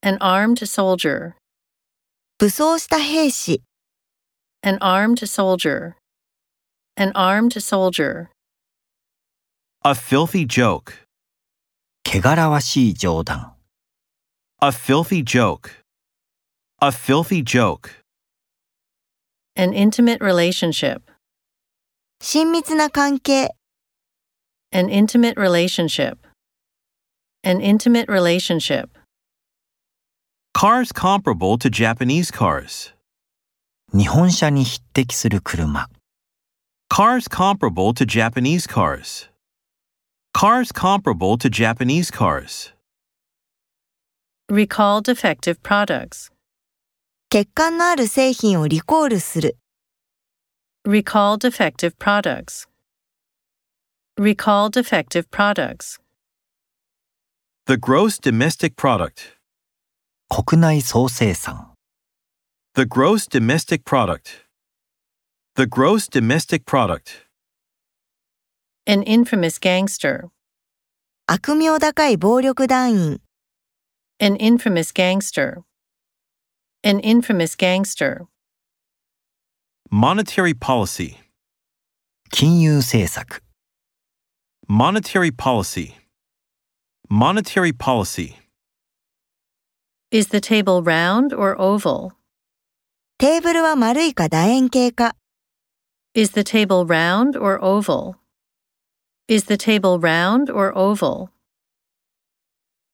An armed soldier. 武装した兵士。 An armed soldier. An armed soldier. A filthy joke. 汚らわしい冗談。 A filthy joke. A filthy joke. An intimate relationship. 親密な関係。 An intimate relationship. An intimate relationship. Cars comparable to Japanese cars. 日本車に匹敵する車。 Cars comparable to Japanese cars. Cars comparable to Japanese cars. Recall defective products. 欠陥のある製品をリコールする。 Recall defective products. Recall defective products. The gross domestic product. 国内総生産。 The gross domestic product. The gross domestic product. An infamous gangster. 悪名高い暴力団員。 An infamous gangster. An infamous gangster. Monetary policy. 金融政策。 Monetary policy. Monetary policy. Is the table round or oval? テーブルは丸いか楕円形か。 Is the table round or oval? Is the table round or oval?